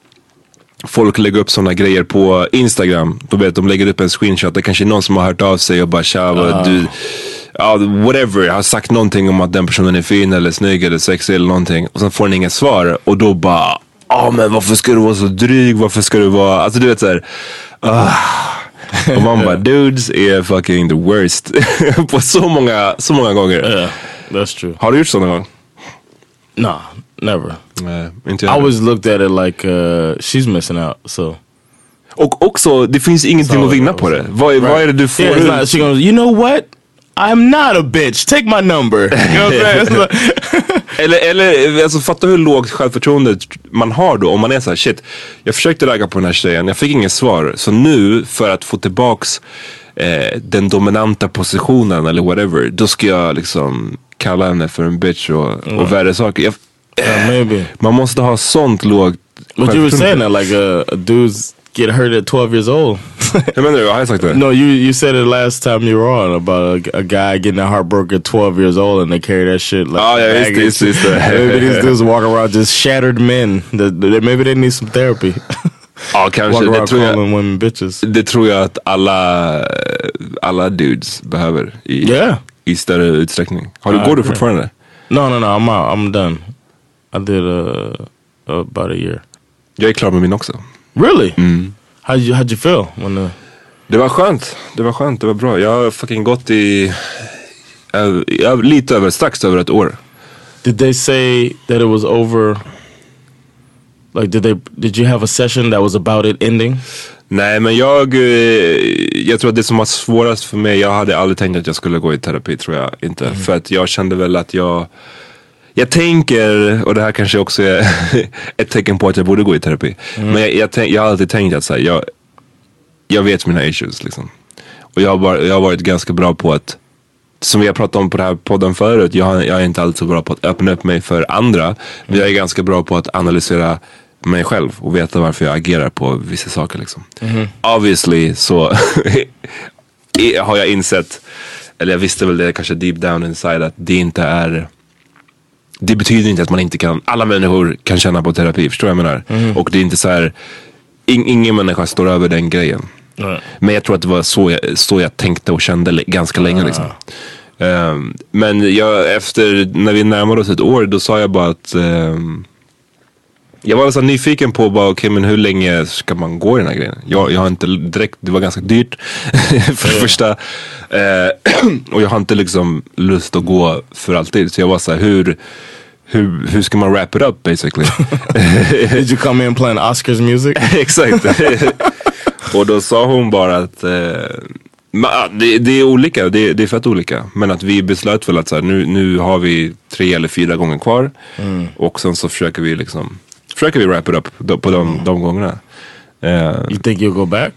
H: folk lägger upp sådana grejer på Instagram. Då vet de lägger upp en screenshot. Det kanske är någon som har hört av sig och bara tja, uh. du, ja, whatever. Har sagt någonting om att den personen är fin eller snygg eller sexig eller någonting. Och sen får den inget svar. Och då bara, ja oh, men varför ska du vara så dryg? Varför ska du vara, alltså du vet såhär. Uh. Och man bara, dudes är fucking the worst. På så många, så många gånger.
G: Yeah, that's true.
H: Har du gjort sådana gånger?
G: Nah, never.
H: Nej, inte
G: I always looked at it like uh, she's missing out, so.
H: Och också, det finns ingenting so, att vinna på det. Vad är, right. vad är det du får?
G: Yeah, not, she goes, you know what? I'm not a bitch, take my number. You know what I'm saying?
H: eller, eller alltså, fatta hur lågt självförtroende man har då. Om man är så här, shit, jag försökte lägga på den här tjejen, jag fick inget svar. Så nu, för att få tillbaks eh, den dominanta positionen eller whatever, då ska jag liksom kalla henne för en bitch och, mm. och värre saker. Jag,
G: yeah, maybe.
H: Man måste ha sånt lågt
G: självförtroende. But you were saying that like a, a dude's get hurt at twelve years old.
H: Jag menar, jag har sagt det.
G: No, you you said it last time you were on about a, a guy getting a heartbroken at twelve years old and they carry that shit like.
H: Oh yeah, it's this, it's that.
G: Maybe these dudes walk around just shattered men. That, that maybe they need some therapy.
H: Ja, kanske.
G: Walk
H: Det tror, jag,
G: women bitches.
H: det tror jag att alla alla dudes behöver i,
G: yeah.
H: i större utsträckning. Har du, uh, går du fortfarande?
G: No, no, no, I'm out. I'm done. I did uh, about a year.
H: Jag är klar med min också.
G: Really?
H: Mm.
G: How'd you, how'd you feel? When the...
H: Det var skönt. Det var skönt. Det var bra. Jag har fucking gått i äh, lite över, strax över ett år.
G: Did they say that it was over? Like did they did you have a session that was about it ending?
H: Nej, men jag jag tror att det som var svårast för mig, jag hade aldrig tänkt att jag skulle gå i terapi, tror jag inte. Mm. För att jag kände väl att jag Jag tänker, och det här kanske också är ett tecken på att jag borde gå i terapi. Mm. Men jag, jag, tänk, jag har alltid tänkt att så här, jag, jag vet mina issues liksom. Och jag har, bara, jag har varit ganska bra på att, som vi har pratat om på den här podden förut, jag, har, jag är inte alltid så bra på att öppna upp mig för andra. Mm. Men jag är ganska bra på att analysera mig själv och veta varför jag agerar på vissa saker liksom. Mm. Obviously så har jag insett, eller jag visste väl det kanske deep down inside, att det inte är, det betyder inte att man inte kan, alla människor kan känna på terapi, förstår jag menar? Mm. Och det är inte så här, in, ingen människa står över den grejen. Mm. Men jag tror att det var så jag, så jag tänkte och kände l- ganska länge mm. liksom. Um, men jag, efter, när vi närmade oss ett år, då sa jag bara att um, jag var så nyfiken på bara, okej, okay, men hur länge ska man gå i den här grejen? Jag, jag har inte direkt, det var ganska dyrt för det första. Uh, och jag har inte liksom lust att gå för alltid. Så jag var så här, hur, hur, hur ska man wrap it up basically?
G: Did you come in playing Oscars music?
H: Exakt. Och då sa hon bara att uh, man, det, det är olika, det, det är fett olika. Men att vi beslöt väl att så här, nu, nu har vi tre eller fyra gånger kvar. Mm. Och sen så försöker vi liksom Försöker vi wrap it up på de, mm. de gångerna. Uh,
G: you think you'll go back?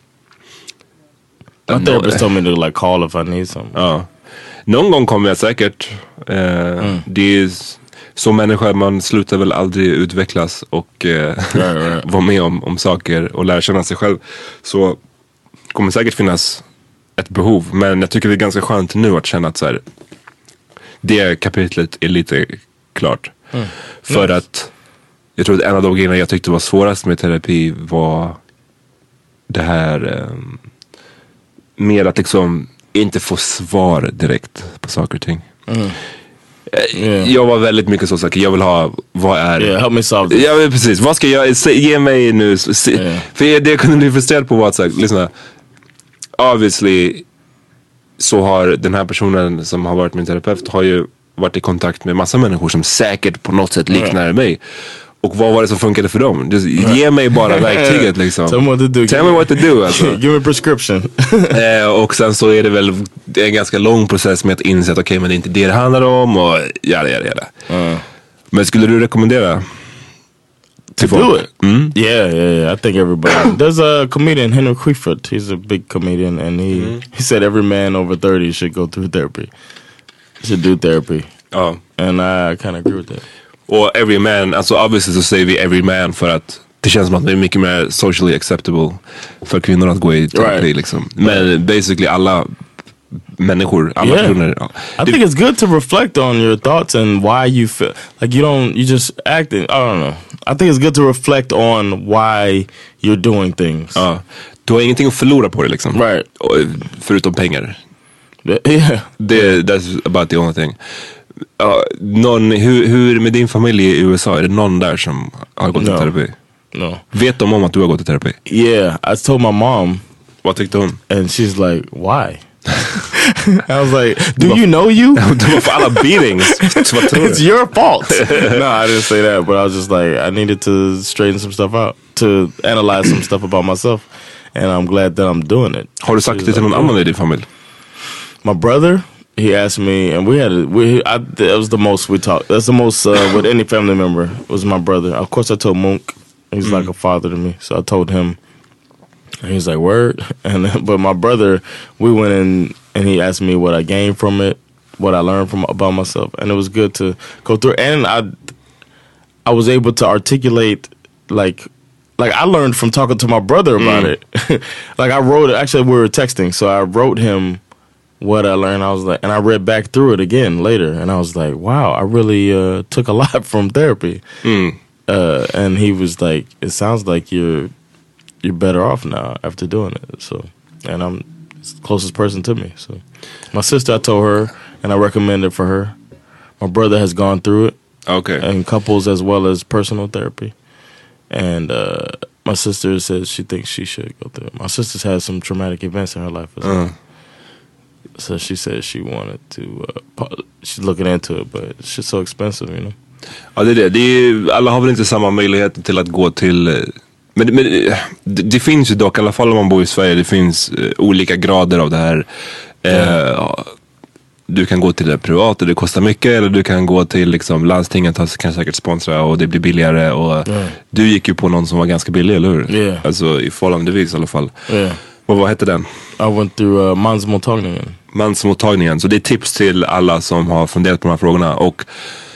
G: My no, therapist told me to like call if I need some.
H: Ja. Någon gång kommer jag säkert. Uh, mm. Det är som människa, man slutar väl aldrig utvecklas och uh, right, right. vara med om, om saker och lära känna sig själv. Så kommer säkert finnas ett behov. Men jag tycker det är ganska skönt nu att känna att så här, det kapitlet är lite klart. Mm. För nice. Att jag tror att en av de grejerna jag tyckte var svårast med terapi var det här eh, mer att liksom inte få svar direkt på saker och ting. Mm. Yeah. Jag var väldigt mycket så saker. Jag vill ha, vad är
G: yeah, help me solve this.
H: Ja, precis, vad ska jag se, ge mig nu se, yeah. För det jag kunde bli frustrerad på var att så här, lyssna, obviously så har den här personen som har varit min terapeut har ju varit i kontakt med massa människor som säkert på något sätt liknar yeah. mig. Och vad var det som funkade för dem? Just, ge mig bara verktyget liksom.
G: Tell me what to do.
H: Tell me what to do alltså.
G: Give me a prescription.
H: eh, och sen så är det väl det är en ganska lång process med att inse att okej, okay, men det är inte det det handlar om och jada jada jada. Mm. Men skulle du rekommendera
G: to do it. Mm. Yeah, yeah, yeah. I think everybody. There's a comedian, Henry Quiford. He's a big comedian, and he mm. he said every man over thirty should go through therapy. Should do therapy.
H: Ja.
G: And I kind of agree with that.
H: Och every man, alltså obviously så säger vi every man för att det känns som att det är mycket mer socially acceptable för kvinnor att gå i terapi right. liksom. Men basically alla människor, alla
G: yeah.
H: personer. Ja.
G: I think it's good to reflect on your thoughts and why you feel like you don't, you just acting. I don't know. I think it's good to reflect on why you're doing things.
H: Ja. Du har ingenting att förlora på det liksom.
G: Right.
H: Förutom pengar.
G: Yeah.
H: Det, that's about the only thing. Uh, någon, hur, hur med din familj i U S A, är det någon där som har gått
G: no.
H: i terapi?
G: No.
H: Vet de om att du har gått i terapi?
G: Yeah, I told my mom.
H: Vad tyckte hon?
G: And she's like, why? I was like, do you know you?
H: Du var för alla beatings.
G: It's your fault. No, I didn't say that, but I was just like, I needed to straighten some stuff out, to analyze some stuff about myself, and I'm glad that I'm doing it.
H: Har du sagt det till någon annan i din familj?
G: My brother, he asked me, and we had a, we I, that was the most we talked. That's the most uh, with any family member was my brother. Of course, I told Monk. He's mm. like a father to me, so I told him. And he's like, word. And but my brother, we went in and he asked me what I gained from it, what I learned from about myself, and it was good to go through. And I, I was able to articulate like, like I learned from talking to my brother about mm. it. Like I wrote it. Actually, we were texting, so I wrote him what I learned. I was like, and I read back through it again later, and I was like, wow, I really uh, took a lot from therapy.
H: Mm.
G: Uh, and he was like, it sounds like you're. You're better off now after doing it. So, and I'm the closest person to me. So, my sister, I told her, and I recommended for her. My brother has gone through it.
H: Okay.
G: And couples as well as personal therapy. And uh, my sister says she thinks she should go through it. My sister's had some traumatic events in her life as well.
H: Uh.
G: So she said she wanted to, uh, she's looking into it, but it's just so expensive, you know.
H: Ja, det är det. Det är, alla har väl inte samma möjlighet till att gå till... Men, men det, det finns ju dock, i alla fall om man bor i Sverige, det finns uh, olika grader av det här. Uh, mm. Du kan gå till det privata, det kostar mycket, eller du kan gå till liksom, landstingen kan säkert sponsra och det blir billigare. Och
G: mm.
H: du gick ju på någon som var ganska billig, eller hur?
G: Yeah.
H: Alltså i förhållandevis i alla fall.
G: Yeah.
H: Och vad hette den?
G: I went through uh, mansmottagningen.
H: Mansmottagningen, så det är tips till alla som har funderat på de här frågorna. Och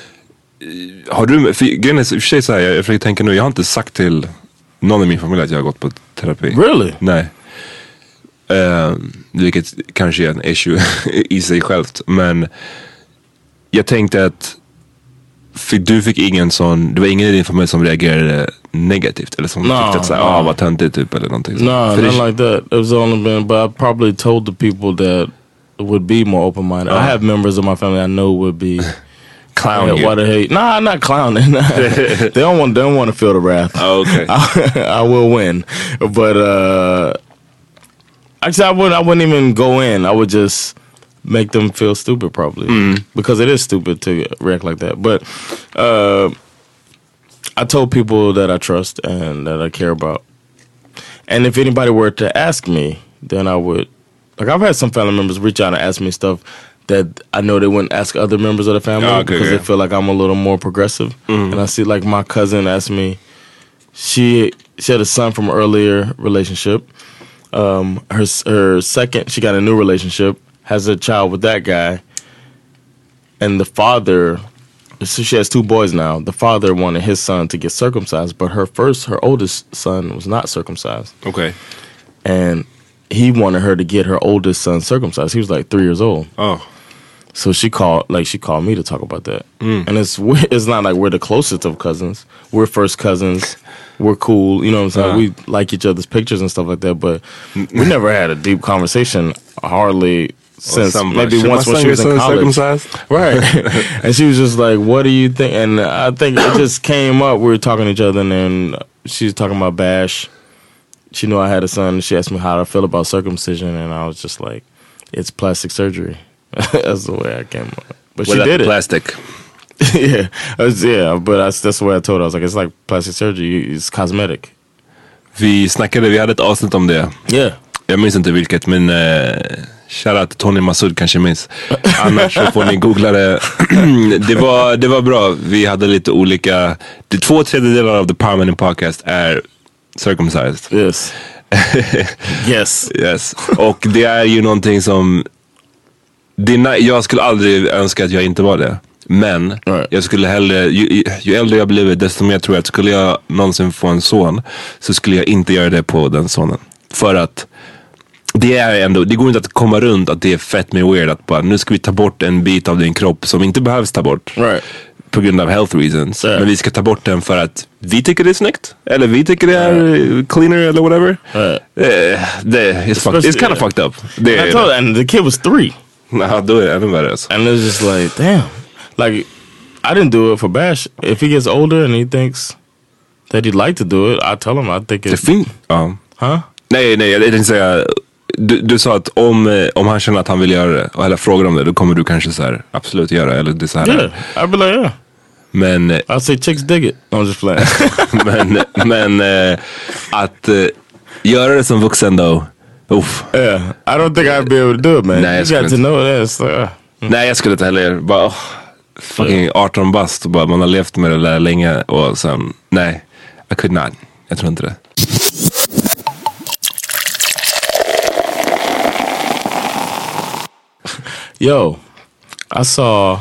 H: har du, för grejen är i och för sig så här, jag försöker tänka nu, jag har inte sagt till någon i min familj att jag har gått på terapi.
G: Really?
H: Nej. Uh, vilket kanske är en issue i sig självt. Men jag tänkte att för du fick ingen sån, det var ingen i din familj som reagerade negativt eller som
G: no,
H: tyckte att säga, ah, vad töntigt typ eller någonting.
G: No, not det, like that. It was only been, but I probably told the people that would be more open-minded. Uh, I have members of my family I know would be
H: clowning
G: yeah, what a hate. Nah, not clowning. they don't want. They don't want to feel the wrath.
H: Oh, okay.
G: I, I will win, but uh, actually, I wouldn't. I wouldn't even go in. I would just make them feel stupid, probably,
H: mm.
G: because it is stupid to react like that. But uh, I told people that I trust and that I care about, and if anybody were to ask me, then I would. Like I've had some family members reach out and ask me stuff that I know they wouldn't ask other members of the family oh, okay, because yeah. they feel like I'm a little more progressive.
H: Mm.
G: And I see like my cousin asked me, she she had a son from an earlier relationship. Um, her her second, she got a new relationship, has a child with that guy. And the father, so she has two boys now. The father wanted his son to get circumcised, but her first, her oldest son was not circumcised.
H: Okay.
G: And he wanted her to get her oldest son circumcised. He was like three years old.
H: Oh.
G: So she called, like she called me to talk about that.
H: Mm.
G: And it's it's not like we're the closest of cousins. We're first cousins. We're cool. You know what I'm saying? Uh-huh. We like each other's pictures and stuff like that. But we never had a deep conversation, hardly since
H: well,
G: maybe once when she was in college. Right. And she was just like, what do you think? And I think it just came up. We were talking to each other and then she was talking about Bash. She knew I had a son. She asked me how I feel about circumcision. And I was just like, it's plastic surgery. That's the way I came up. But
H: well,
G: she did it.
H: Plastic.
G: yeah, was, yeah, but I, that's the way I told her. I was like, it's like plastic surgery. It's cosmetic.
H: Vi snackade, vi hade ett avsnitt om det.
G: Yeah.
H: Jag minns inte vilket, men uh, Shoutout till Tony Massoud kanske minns. Annars så får ni googla det. det, var, det var bra. Vi hade lite olika... Det två tredjedelar av The Power Minute Podcast är circumcised.
G: Yes. yes.
H: Yes. Och det är ju någonting som... Dina, jag skulle aldrig önska att jag inte var det. Men right. jag skulle hellre... Ju, ju äldre jag blivit, desto mer tror jag att skulle jag någonsin få en son, så skulle jag inte göra det på den sonen. För att det är ändå, det går inte att komma runt att det är fett med weird att bara, nu ska vi ta bort en bit av din kropp som inte behövs ta bort.
G: Right.
H: På grund av health reasons.
G: Yeah.
H: Men vi ska ta bort den för att vi tycker det är snyggt. Eller vi tycker det är yeah. cleaner eller whatever.
G: Right.
H: Uh, det, it's, fucked, it's kind of fucked up. Det,
G: I told and the kid was three.
H: Nah, då är det ännu värre.
G: And it was just like, damn. Like, I didn't do it for Bash. If he gets older and he thinks that he'd like to do it, I tell him I think it's...
H: Det fin- ja.
G: Huh?
H: Nej, nej, jag tänkte säga... Du, du sa att om, om han känner att han vill göra det och eller frågar om det, då kommer du kanske så här absolut göra, eller det så här.
G: Yeah, I'd be like, yeah.
H: Men...
G: I'll say chicks dig it. I'm just playing.
H: men men äh, att äh, göra det som vuxen då, uff.
G: Yeah, I don't think I'd be able to do it, man.
H: Nej,
G: you got to know this. Uh. Mm.
H: Nej, jag skulle inte heller. Bara, oh, fucking arton bast och bara, man har levt med det där länge och sen, nej, I could not. Jag tror inte det.
G: Yo, I saw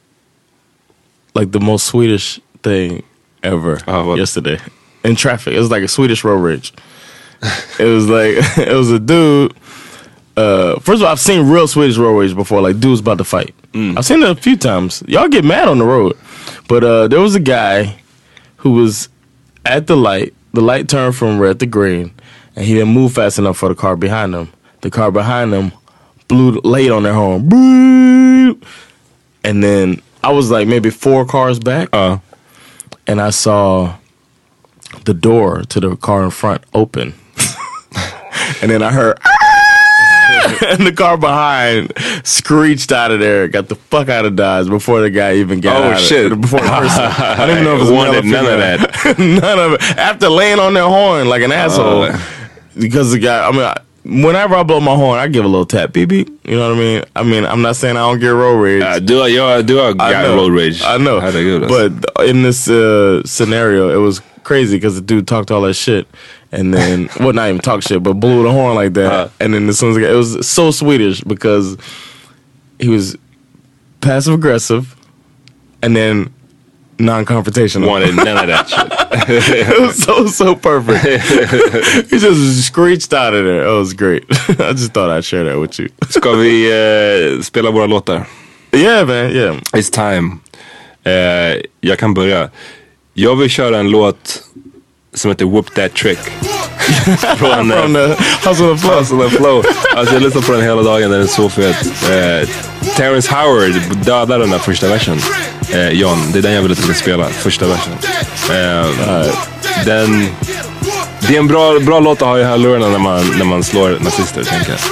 G: like the most Swedish thing ever uh, yesterday in traffic. It was like a Swedish road rage. It was like, it was a dude. Uh, first of all, I've seen real Swedish road rage before, like dudes about to fight. Mm. I've seen it a few times. Y'all get mad on the road. But uh, there was a guy who was at the light. The light turned from red to green, and he didn't move fast enough for the car behind him. The car behind him blew late on their horn. Boop! And then I was like maybe four cars back.
H: Uh.
G: And I saw the door to the car in front open. And then I heard... and the car behind screeched out of there, got the fuck out of Dodge before the guy even got
H: oh,
G: out
H: shit.
G: of it. Before the person. I didn't even know if it was
H: wanted none of that.
G: None of it. After laying on their horn like an asshole. Uh. Because the guy, I mean... I, whenever I blow my horn, I give a little tap, beep beep. You know what I mean? I mean, I'm not saying I don't get road rage.
H: Uh, do I? Yo, do I got road rage?
G: I know.
H: How'd I do this?
G: But in this uh, scenario, it was crazy because the dude talked all that shit, and then well, not even talk shit, but blew the horn like that. Uh, and then as soon as it was so Swedish because he was passive aggressive, and then non-confrontational.
H: Wanted none of that shit.
G: It was so, so perfect. He just screeched out of there. It was great. I just thought I'd share that with you.
H: Ska vi uh, spela våra låtar?
G: Yeah, man, yeah.
H: It's time. Uh, jag kan börja. Jag vill köra en låt som heter Whoop That Trick. Från uh,
G: From the Hustle and Flow.
H: Hustle and Flow. Alltså jag lyssnar på den hela dagen, den är så fet. Uh, Terrence Howard dödade den där första versen. Uh, John, det är den jag vill att du ska spela, första versen. Uh, uh, den, det är en bra, bra låt att ha i hörlurarna när man, när man slår nazister, tänker jag.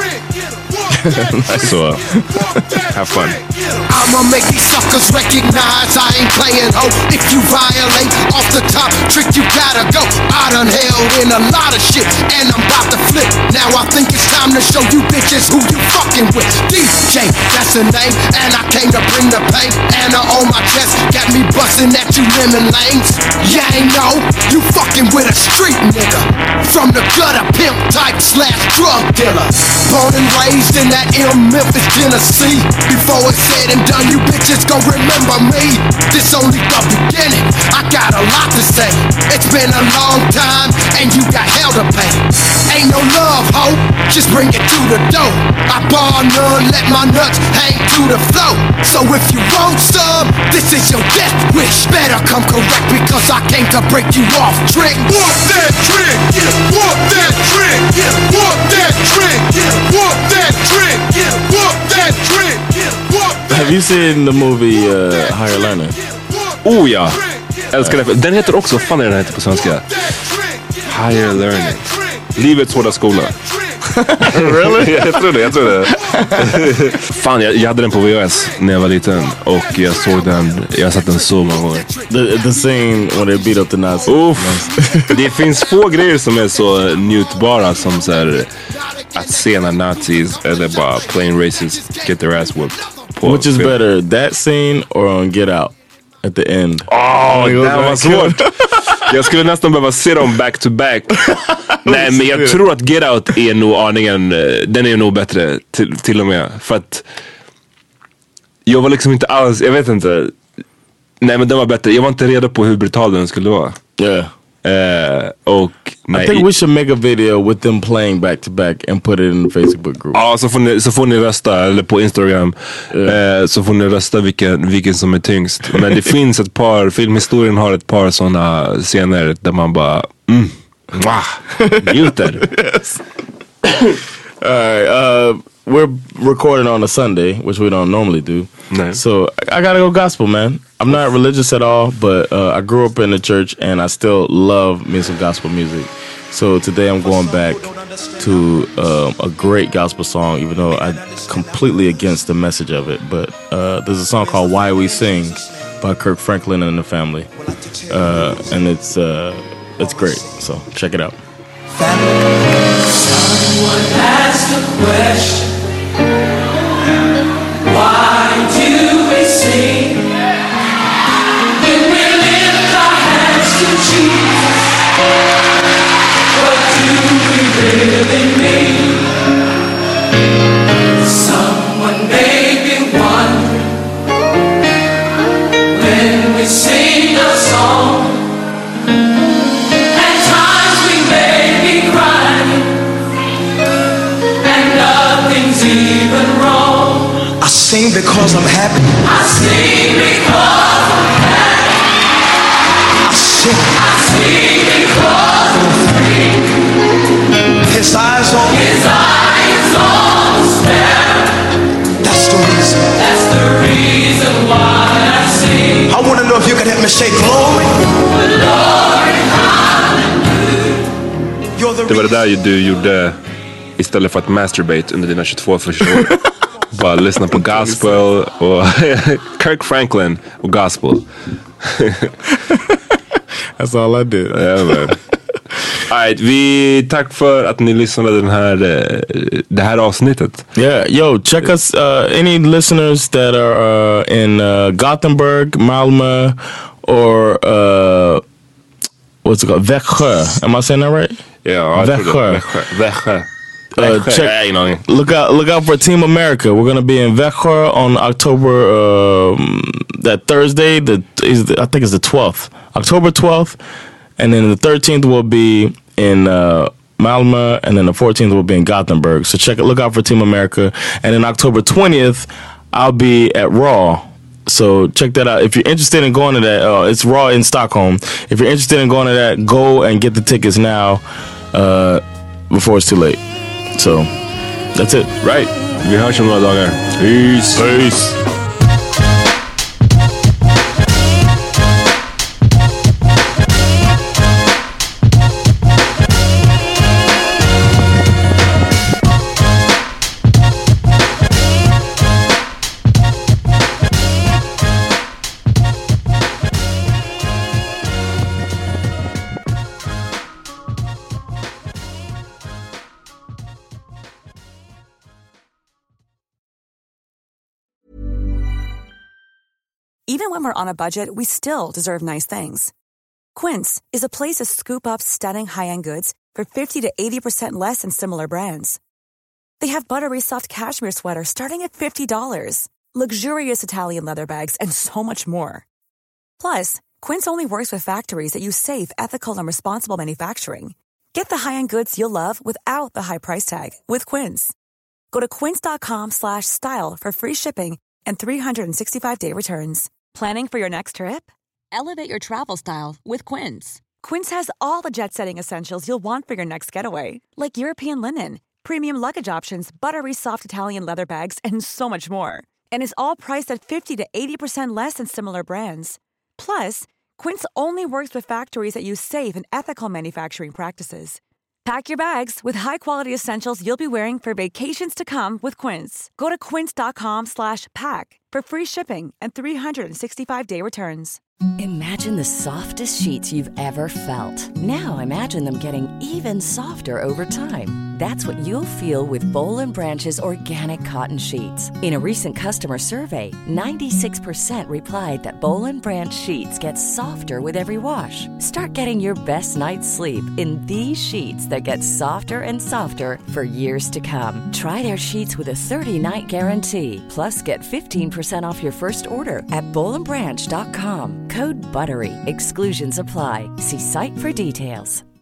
H: Nice. So, have fun.
M: I'ma make these suckers recognize I ain't playing ho. If you violate off the top trick, you gotta go. I done held in a lot of shit, and I'm about to flip. Now I think it's time to show you bitches who you fucking with. D J, that's the name, and I came to bring the pain. Anna on my chest, got me busting at you lemon lanes. Yeah, ain't know you fucking with a street nigga. From the gutter pimp type slash drug dealer. Born and raised in that M Memphis, Tennessee. Before it's said and done, you bitches gon' remember me. This only the beginning, I got a lot to say. It's been a long time, and you got hell to pay. Ain't no love, ho, just bring it to the door. I bar none, let my nuts hang to the floor. So if you want some, this is your death wish. Better come correct, because I came to break you off, trick. Whoop that trick, yeah, whoop that trick, yeah, whoop that trick, yeah, whoop that trick, yeah, whoop that trick, yeah, whoop that.
G: Have you seen the movie uh, Higher Learning?
H: Oh ja, älskar det. Den heter också, vad fan är den heter på svenska? Higher Learning. Livets hårda skola.
G: Really?
H: Jag tror det, jag tror det. Fan, jag, jag hade den på V H S när jag var liten. Och jag såg den, jag har sett den så många gånger.
G: The, the scene when they beat up the Nazis.
H: Uff. Det finns få grejer som är så njutbara som så här, att se när nazis eller bara plain racists get their ass whooped.
G: Which is better, that scene or on Get Out at the end?
H: Åh, oh, det var svårt. Jag skulle nästan behöva se dem back to back. Nej, men jag tror att Get Out är nog aningen, den är nog bättre till, till och med. För att jag var liksom inte alls, jag vet inte. Nej, men den var bättre. Jag var inte redo på hur brutal den skulle vara.
G: Yeah.
H: Uh, och nej.
G: I think we should make a video with them playing back to back and put it in the Facebook group.
H: Ja, så får ni, så får ni rösta, eller på Instagram. Yeah. Uh, så får ni rösta vilken, vilken som är tyngst. Men det finns ett par, filmhistorien har ett par sådana scener där man bara mm, njuter.
G: Yes. All right, uh, we're recording on a Sunday, which we don't normally do.
H: No.
G: So I gotta go gospel, man. I'm not religious at all, but uh, I grew up in the church and I still love me some gospel music. So today I'm going back to um, a great gospel song, even though I'm completely against the message of it. But uh, there's a song called Why We Sing by Kirk Franklin and the Family. Uh, and it's, uh, it's great, so check it out.
N: Someone asked a question. Why do we sing when we lift our hands to Jesus? What do we really mean? Someone may be wondering when we sing a song. At times we may be crying and nothing's even wrong.
M: I sing because I'm happy.
N: I sing because I'm happy.
M: I sing.
N: I sing because I'm free.
M: His eyes on me.
N: His eyes on the sparrow.
M: That's the reason.
N: That's the reason why I sing.
M: I want to know if you can help me say glory.
N: Glory, hallelujah.
M: You're the
H: Det var det där du gjorde istället för att masturbate under dina tjugotvå första år. Bara lyssna på gospel och Kirk Franklin och gospel.
G: That's all I did.
H: Yeah, man. All right, vi tack för att ni lyssnade den här det här avsnittet.
G: Yeah, yo, check us. Uh, any listeners that are uh, in uh, Gothenburg, Malmö, or uh, what's it called, Växjö? Am I saying that right?
H: Yeah,
G: Växjö.
H: Växjö.
G: Uh, check, look out! Look out for Team America. We're gonna be in Växjö on October um, that Thursday. The is the, I think it's the twelfth, October twelfth, and then the thirteenth will be in uh, Malmö, and then the fourteenth will be in Gothenburg. So check it. Look out for Team America, and then October twentieth, I'll be at Raw. So check that out. If you're interested in going to that, uh, it's Raw in Stockholm. If you're interested in going to that, go and get the tickets now uh, before it's too late. So, that's it.
H: Right. Vi hörs om några dagar. Peace.
G: Peace.
O: Even when we're on a budget, we still deserve nice things. Quince is a place to scoop up stunning high-end goods for fifty to eighty percent less than similar brands. They have buttery soft cashmere sweaters starting at fifty dollars, luxurious Italian leather bags, and so much more. Plus, Quince only works with factories that use safe, ethical, and responsible manufacturing. Get the high-end goods you'll love without the high price tag with Quince. Go to quince.com slash style for free shipping and three sixty-five day returns. Planning for your next trip? Elevate your travel style with Quince. Quince has all the jet-setting essentials you'll want for your next getaway, like European linen, premium luggage options, buttery soft Italian leather bags, and so much more. And is all priced at fifty to eighty percent less than similar brands. Plus, Quince only works with factories that use safe and ethical manufacturing practices. Pack your bags with high-quality essentials you'll be wearing for vacations to come with Quince. Go to quince.com slash pack for free shipping and three sixty-five day returns.
P: Imagine the softest sheets you've ever felt. Now imagine them getting even softer over time. That's what you'll feel with Bowl and Branch's organic cotton sheets. In a recent customer survey, ninety-six percent replied that Bowl and Branch sheets get softer with every wash. Start getting your best night's sleep in these sheets that get softer and softer for years to come. Try their sheets with a thirty-night guarantee. Plus, get fifteen percent off your first order at bowl and branch dot com. Code BUTTERY. Exclusions apply. See site for details.